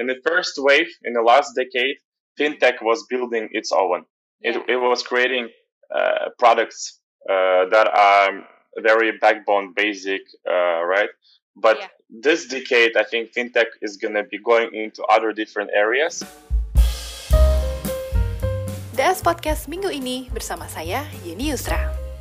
in the first wave, in the last decade, Mm. fintech was building its own. Yeah. It was creating products that are very backbone basic, right? But Yeah. this decade, I think fintech is going to be going into other different areas. DS Podcast minggu ini bersama saya, Yeni Yusra.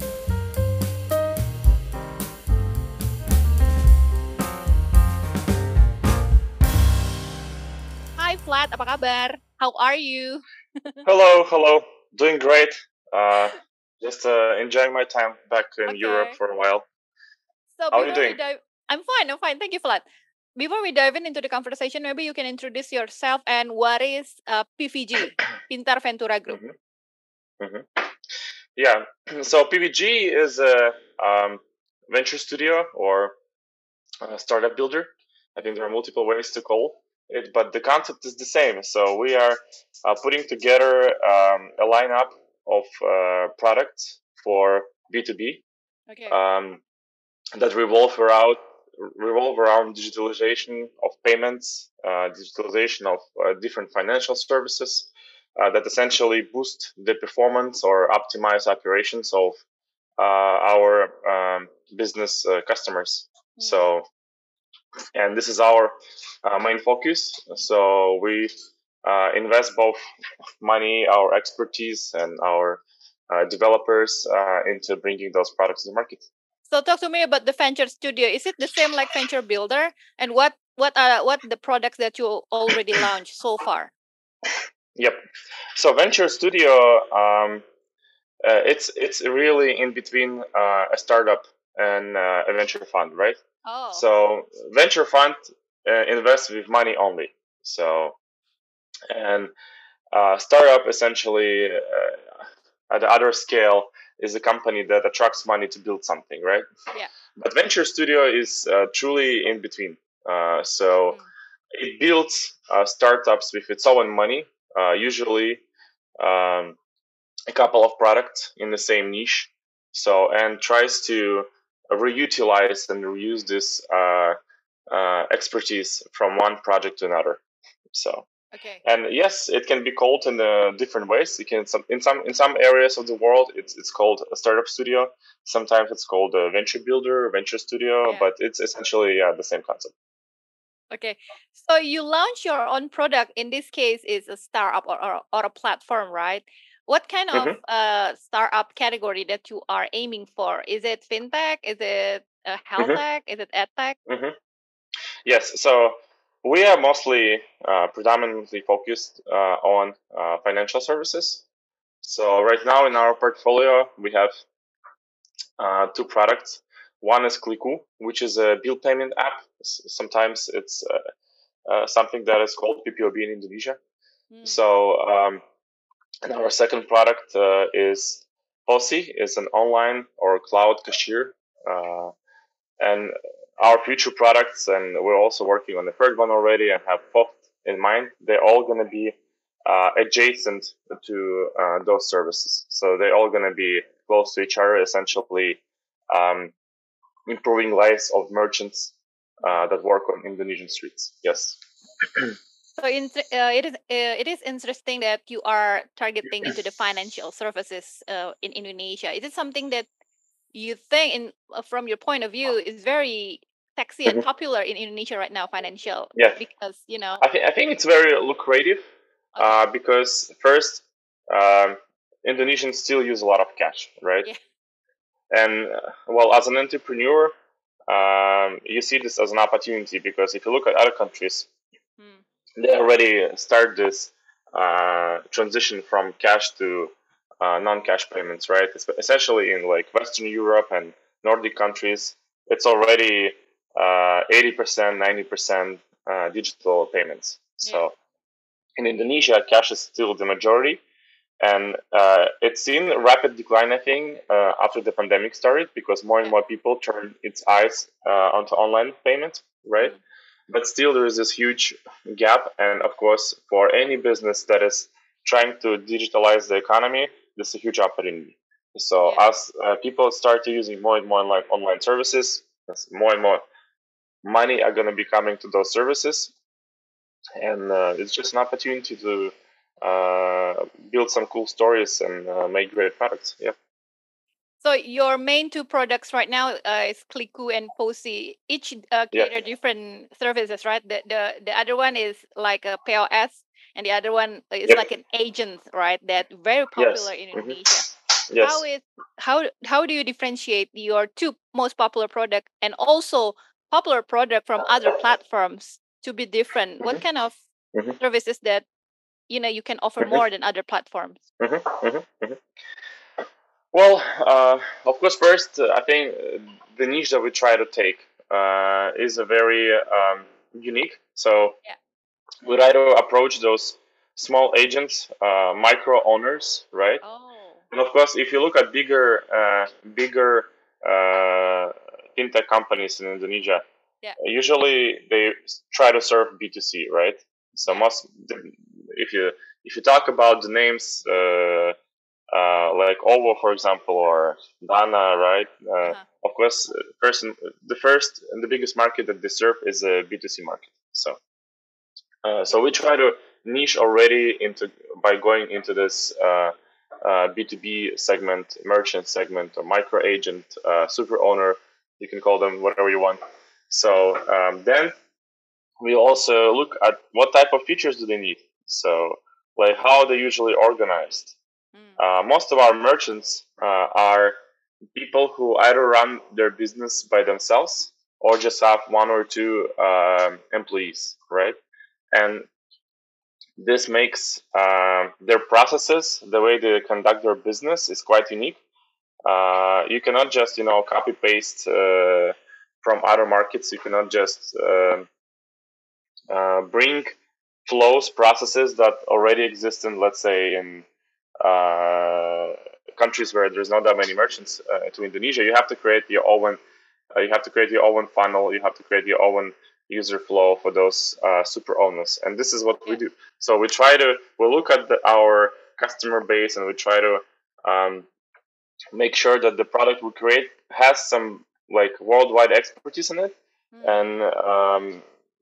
Hi Vlad, apa kabar? How are you? Hello. Doing great. Just enjoying my time back in Okay. Europe for a while. So How are you before we doing? dive, I'm fine. Thank you, Vlad. Before we dive into the conversation, maybe you can introduce yourself and what is PVG, Pintar Ventura Group. Yeah. So PVG is a venture studio or a startup builder. I think there are multiple ways to call it, but the concept is the same. So we are putting together a lineup of products for B2B Okay. that revolve around digitalization of payments, digitalization of different financial services that essentially boost the performance or optimize operations of our business customers. So, and this is our main focus. So we invest both money, our expertise, and our developers into bringing those products to the market. So talk to me about the venture studio. Is it the same like venture builder? And what the products that you already launched so far? Yep. So venture studio, it's really in between a startup and a venture fund, right? Oh. So venture fund invests with money only. So and startup essentially at the other scale is a company that attracts money to build something, right? Yeah. But venture studio is truly in between. So it builds startups with its own money, usually a couple of products in the same niche. So and tries to reutilize and reuse this expertise from one project to another. So. Okay. And yes, it can be called in different ways. It can in some areas of the world it's called a startup studio. Sometimes it's called a venture builder, venture studio, Yeah. but it's essentially the same concept. Okay, so you launch your own product. In this case, is a startup or a platform, right? What kind of startup category that you are aiming for? Is it fintech? Is it health tech? Is it edtech? Yes. So we are mostly predominantly focused on financial services. So right now in our portfolio we have two products. One is Kliku, which is a bill payment app. Sometimes it's something that is called PPOB in Indonesia. So and our second product is Posi. It's an online or cloud cashier. And our future products, and we're also working on the third one already and have both in mind, they're all going to be adjacent to those services. So they're all going to be close to each other, essentially improving lives of merchants that work on Indonesian streets. Yes. So it is interesting that you are targeting into the financial services in Indonesia. Is it something that you think, from your point of view, is very sexy and popular in Indonesia right now, financial? Yeah. Because I think it's very lucrative because first, Indonesians still use a lot of cash, right? Yeah. And well, as an entrepreneur, you see this as an opportunity because if you look at other countries, they already start this transition from cash to non-cash payments, right? Essentially in like Western Europe and Nordic countries, it's already 80%, 90% digital payments. So in Indonesia, cash is still the majority. And it's seen a rapid decline, I think, after the pandemic started because more and more people turned its eyes onto online payments, right? But still, there is this huge gap. And of course, for any business that is trying to digitalize the economy, this is a huge opportunity. So as people start using more and more online services, more and more money are going to be coming to those services. and it's just an opportunity to build some cool stories and make great products. Yeah. So your main two products right now is Kliku and Posi. Each cater different services, right? The other one is like a POS, and the other one is like an agent, right? That very popular in Indonesia. Yes. How do you differentiate your two most popular product and also popular product from other platforms to be different? What kind of services that you can offer more than other platforms? Well, of course, first, I think the niche that we try to take is a very unique. So we try to approach those small agents, micro owners, right? And of course, if you look at bigger fintech companies in Indonesia, usually they try to serve B2C, right? So if you talk about the names like Ovo, for example, or Dana, right? Of course, the first and the biggest market that they serve is a B2C market. So we try to niche already by going into this B2B segment, merchant segment, or micro agent, super owner. You can call them whatever you want. So then we also look at what type of features do they need. So like how they're usually organized. Most of our merchants are people who either run their business by themselves or just have one or two employees, right? And this makes their processes, the way they conduct their business, is quite unique. You cannot just copy paste from other markets. You cannot just bring flows, processes that already exist in, let's say, in countries where there's not that many merchants to Indonesia. You have to create your own. You have to create your own funnel. You have to create your own user flow for those super owners, and this is what we do. So we look at our customer base, and we try to make sure that the product we create has some like worldwide expertise in it, and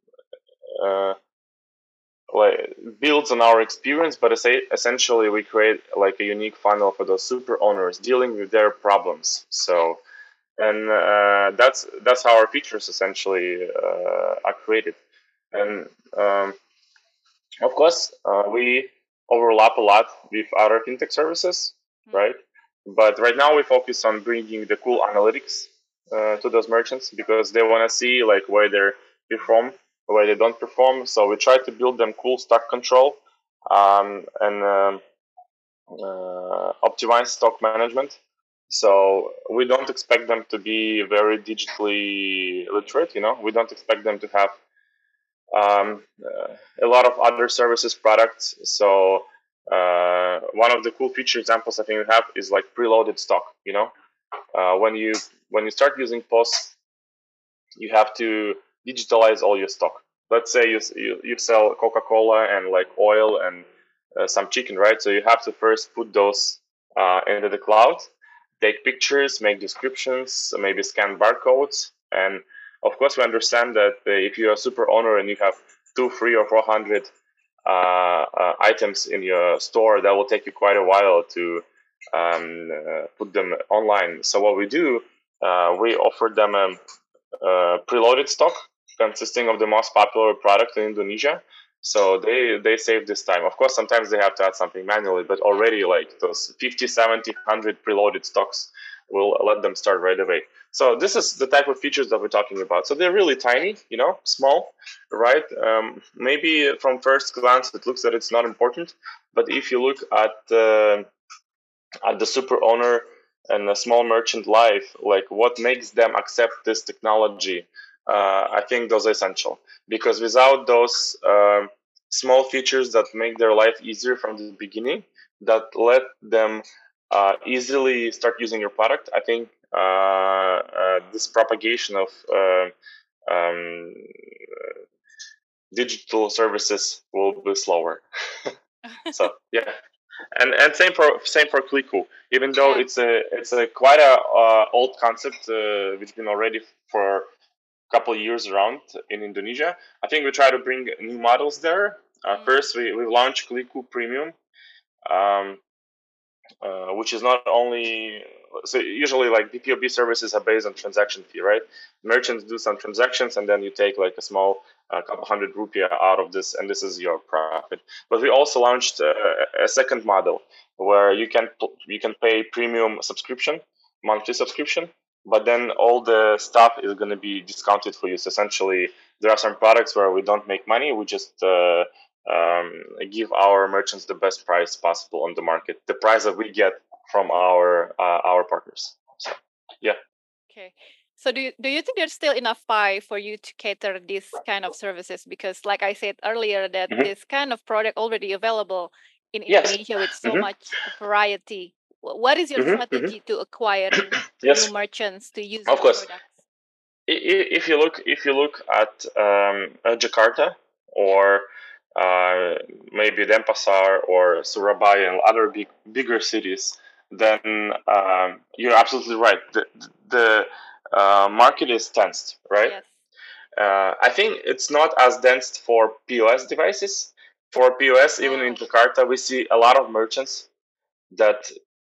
like builds on our experience, but essentially we create like a unique funnel for those super owners dealing with their problems. So, and that's how our features essentially are created. And of course, we overlap a lot with other fintech services, right? But right now we focus on bringing the cool analytics to those merchants because they want to see like where they perform, where they don't perform. So we try to build them cool stock control and optimize stock management. So we don't expect them to be very digitally literate. We don't expect them to have a lot of other services products. So one of the cool feature examples I think we have is like preloaded stock. When you start using POS, you have to digitalize all your stock. Let's say you sell Coca-Cola and like oil and some chicken, right? So you have to first put those into the cloud, take pictures, make descriptions, maybe scan barcodes, and of course, we understand that if you're a super owner and you have 200, 300, or 400 items in your store, that will take you quite a while to put them online. So what we do, we offer them a preloaded stock consisting of the most popular product in Indonesia. So they save this time. Of course, sometimes they have to add something manually, but already like those 50, 70, 100 preloaded stocks will let them start right away. So this is the type of features that we're talking about. So they're really tiny, small, right? Maybe from first glance it looks that it's not important, but if you look at the super owner and a small merchant life, like what makes them accept this technology, I think those are essential, because without those small features that make their life easier from the beginning, that let them easily start using your product, I think this propagation of digital services will be slower. So yeah, and same for Kliku. Even though it's a quite a old concept, which been already for a couple years around in Indonesia. I think we try to bring new models there. First, we launched Kliku Premium, which is not only, so usually like BPOB services are based on transaction fee, right? Merchants do some transactions and then you take like a small couple hundred rupiah out of this, and this is your profit. But we also launched a second model where you can pay premium subscription, monthly subscription, but then all the stuff is going to be discounted for you. So essentially, there are some products where we don't make money. We just give our merchants the best price possible on the market, the price that we get from our partners. So, yeah. Okay. So do you think there's still enough pie for you to cater these kind of services? Because like I said earlier, that this kind of product already available in Indonesia with so much variety. What is your strategy to acquiring new merchants to use your products? If you look at Jakarta or maybe Denpasar or Surabaya and other bigger cities, then you're absolutely right. The market is dense, right? Yes. I think it's not as dense for POS devices. For POS, even in Jakarta, we see a lot of merchants that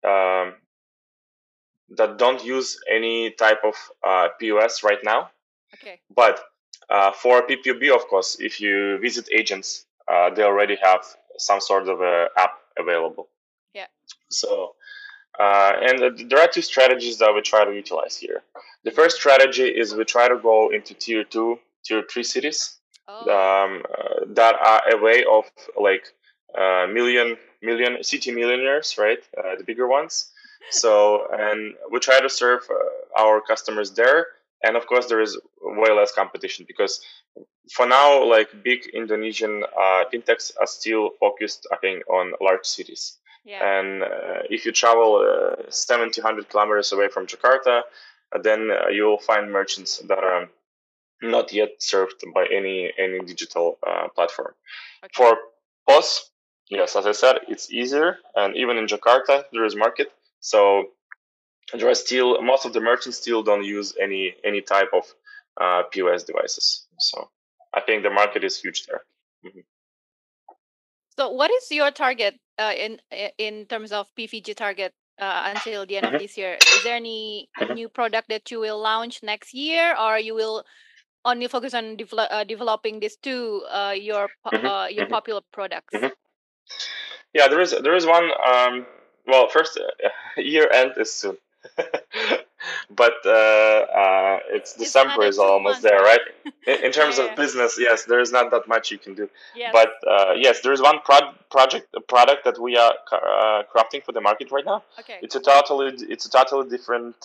don't use any type of POS right now. Okay. But for PPOB, of course, if you visit agents, they already have some sort of a app available. Yeah. So, and there are two strategies that we try to utilize here. The first strategy is we try to go into tier 2, tier 3 cities that are a way of like million city millionaires, right? The bigger ones. So, and we try to serve our customers there. And of course, there is way less competition because for now, like big Indonesian fintechs are still focused, I think, on large cities. Yeah. And if you travel 700 kilometers away from Jakarta, then you'll find merchants that are not yet served by any digital platform. Okay. For POS, yes, as I said, it's easier, and even in Jakarta there is market. So there are still most of the merchants still don't use any type of POS devices. So I think the market is huge there. Mm-hmm. So what is your target in terms of PVG target until the end of this year? Is there any new product that you will launch next year, or you will only focus on developing these two your popular products? Yeah, there is one. Well, first, year end is soon. But it's December is almost there, right? In terms of business, yes, there is not that much you can do. Yes. But yes, there is one product that we are crafting for the market right now. Okay. It's a totally different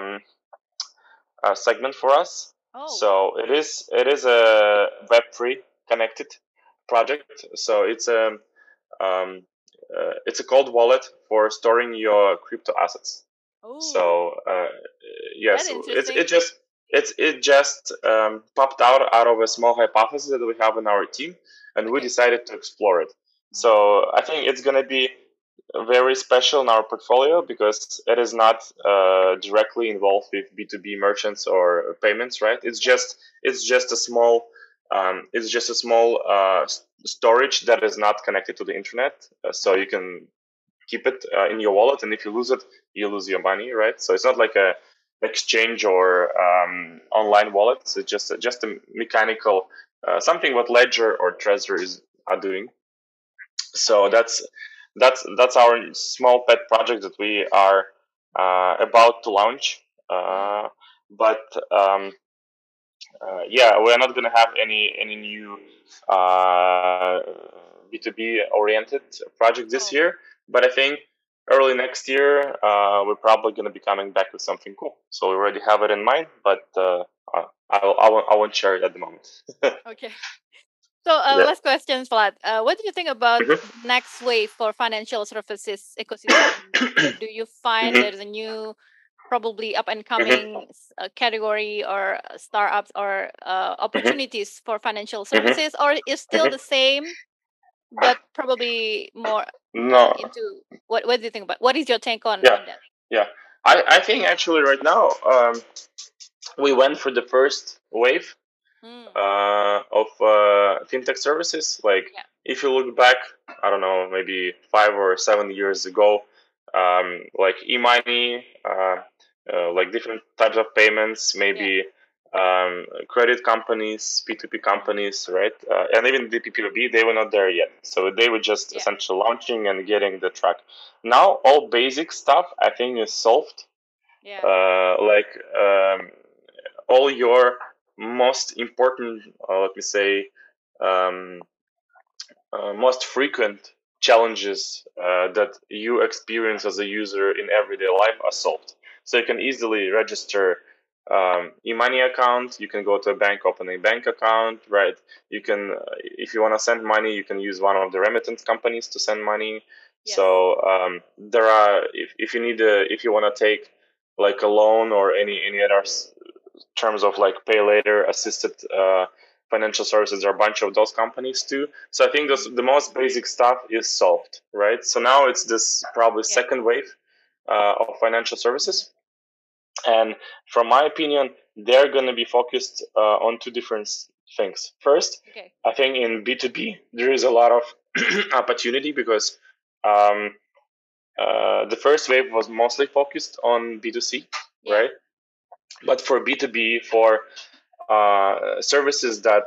segment for us. Oh. So it is a Web3 connected project. So it's a cold wallet for storing your crypto assets. Ooh. So yes, it just popped out of a small hypothesis that we have in our team, and we decided to explore it. So I think it's going to be very special in our portfolio because it is not directly involved with B2B merchants or payments, right? It's just a small storage that is not connected to the internet, so you can keep it in your wallet, and if you lose it, you lose your money, right? So it's not like a exchange or online wallet. It's just a mechanical something what Ledger or Trezor are doing. So that's our small pet project that we are about to launch. But yeah, we're not going to have any new B2B oriented project this year. But I think early next year, we're probably going to be coming back with something cool. So we already have it in mind, but I won't share it at the moment. Okay. So last question, Vlad. What do you think about the next wave for financial services ecosystem? Do you find there's a new, probably up and coming category or startups or opportunities for financial services, or is still the same, but probably more into what do you think about? What is your take on that? Yeah, I think actually right now we went for the first wave of fintech services. Like if you look back, I don't know, maybe 5 or 7 years ago, like e-money, like different types of payments, maybe credit companies, P2P companies, right? And even the P2B, they were not there yet. So they were just essentially launching and getting the track. Now all basic stuff I think is solved. Like all your most important, let me say, most frequent challenges that you experience as a user in everyday life are solved. So you can easily register e-money account. You can go to a bank, open a bank account, right? You can, if you want to send money, you can use one of the remittance companies to send money. So there are, if you need if you want to take like a loan or any other terms of like pay later assisted financial services, there are a bunch of those companies too. So I think the most basic stuff is solved, right? So now it's this probably second wave of financial services. And from my opinion, they're going to be focused on two different things. First, I think in B2B, there is a lot of opportunity because the first wave was mostly focused on B2C, right? But for B2B, for services that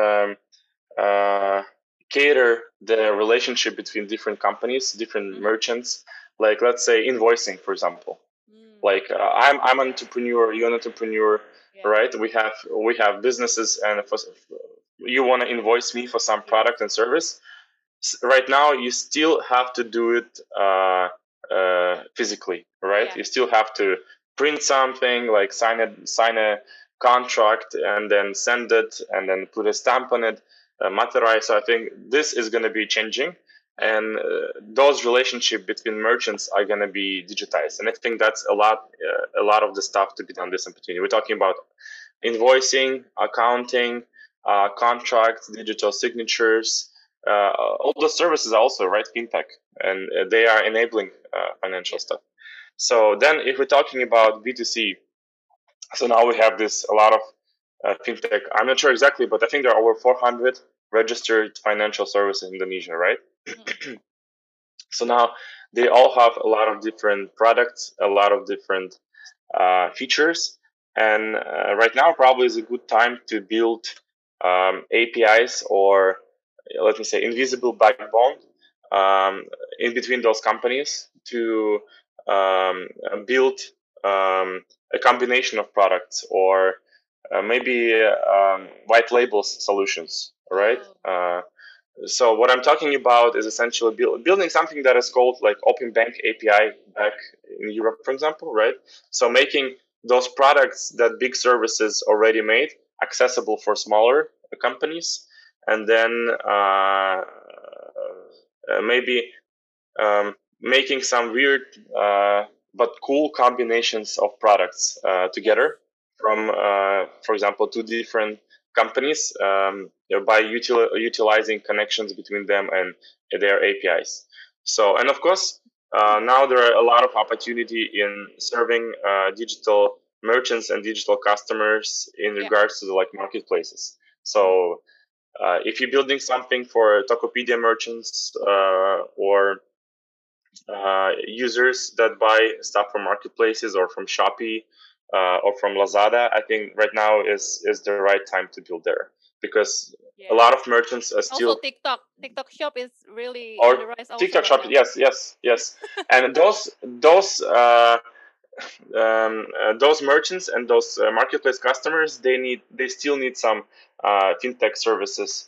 cater the relationship between different companies, different merchants, like let's say invoicing, for example. Like I'm an entrepreneur, you're an entrepreneur, right? We have businesses, and you want to invoice me for some product and service. Right now, you still have to do it physically, right? You still have to print something, like sign a contract, and then send it, and then put a stamp on it, materialize. So I think this is going to be changing, and those relationships between merchants are going to be digitized. And I think that's a lot of the stuff to be done this opportunity. We're talking about invoicing, accounting, contracts, digital signatures. All the services are also, right, fintech, and they are enabling financial stuff. So then if we're talking about B2C, so now we have a lot of fintech. I'm not sure exactly, but I think there are over 400 registered financial services in Indonesia, right? So now they all have a lot of different products, a lot of different features. And right now probably is a good time to build APIs, or let me say invisible backbone in between those companies to build a combination of products, or maybe white label solutions, right? So what I'm talking about is essentially building something that is called like Open Bank API back in Europe, for example, right? So making those products that big services already made accessible for smaller companies, and then maybe making some weird but cool combinations of products together from, for example, two different companies by utilizing connections between them and their APIs. So, and of course, now there are a lot of opportunity in serving digital merchants and digital customers in regards to the like marketplaces. So if you're building something for Tokopedia merchants or users that buy stuff from marketplaces or from Shopee or from Lazada, I think right now is the right time to build there, because a lot of merchants are still also TikTok Shop is really on the rise also TikTok Shop. now. Yes. And those merchants and those marketplace customers, they still need some fintech services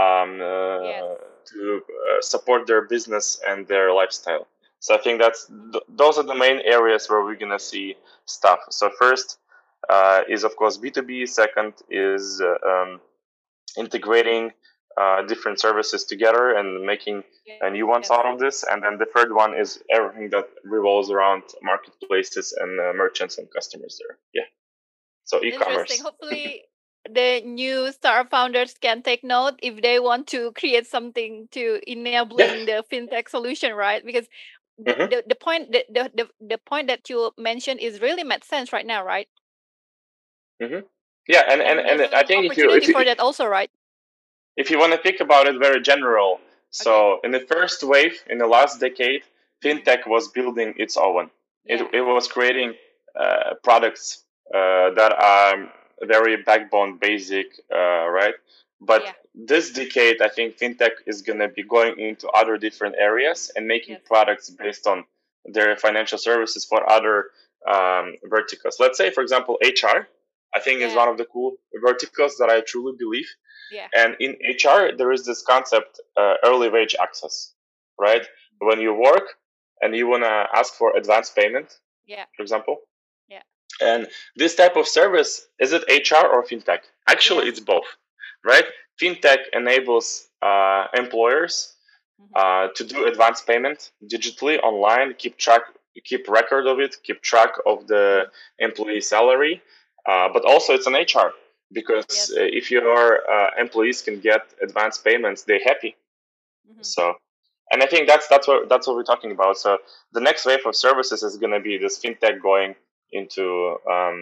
to support their business and their lifestyle. So I think those are the main areas where we're gonna see stuff. So first is of course B2B. Second is integrating different services together and making new ones out of this. And then the third one is everything that revolves around marketplaces and merchants and customers there. Yeah. So e-commerce. Interesting. Hopefully the new startup founders can take note if they want to create something to enabling the fintech solution, right? Because the point the point that you mentioned is really made sense right now, right? Mm-hmm. Yeah, and I think if you for that also, right? If you want to think about it very general, so in the first wave, in the last decade, fintech was building its own. It was creating products that are very backbone basic, right? But this decade, I think fintech is going to be going into other different areas and making products based on their financial services for other verticals. Let's say, for example, HR, I think is one of the cool verticals that I truly believe. Yeah. And in HR, there is this concept, early wage access, right? When you work and you want to ask for advance payment, for example. Yeah. And this type of service, is it HR or fintech? Actually, it's both, right? Fintech enables employers to do advance payment digitally online, keep record of it, keep track of the employee salary, but also it's an HR. Because if your employees can get advance payments, they're happy. So, and I think that's what we're talking about. So the next wave of services is going to be this fintech going into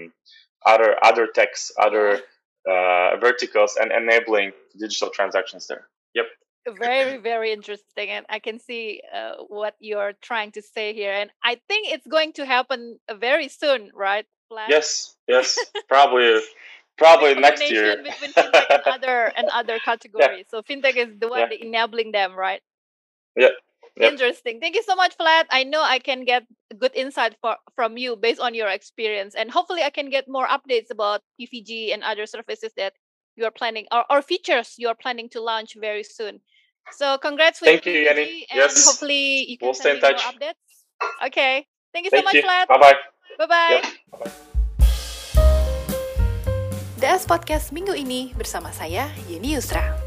other techs, other verticals, and enabling digital transactions there. Yep. Very, very interesting, and I can see what you're trying to say here, and I think it's going to happen very soon, right? Yes, probably next year. Between fintech and other categories. So fintech is the one enabling them, right? Yeah. Interesting. Thank you so much, Vlad. I know I can get good insight from you based on your experience, and hopefully I can get more updates about PVG and other services that you are planning or features you are planning to launch very soon. So congrats with PVG, Yanni. And hopefully you can stay in touch. More updates. Okay. Thank you so much, Vlad. Bye-bye. Bye-bye. Bye-bye. DS Podcast minggu ini bersama saya, Yeni Yusra.